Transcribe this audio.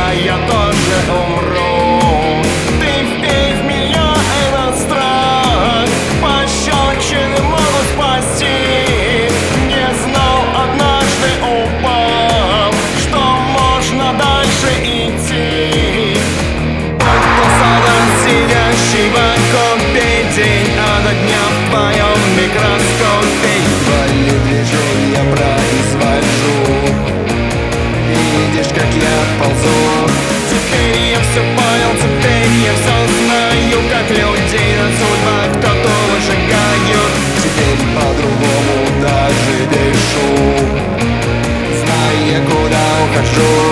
я тоже умру. Ты вбей в меня этот страх, пощечины могут спасти. Не знал, однажды упал, что можно дальше идти. Будто солдат, сидящий в окопе, день ото дня в твоем микроскопе. Едва движу, я произвожу. Видишь, как я ползу. Теперь я все понял, теперь я все знаю, как людей на судьбах кто-то выжигают. Теперь по-другому даже дышу, зная, куда ухожу.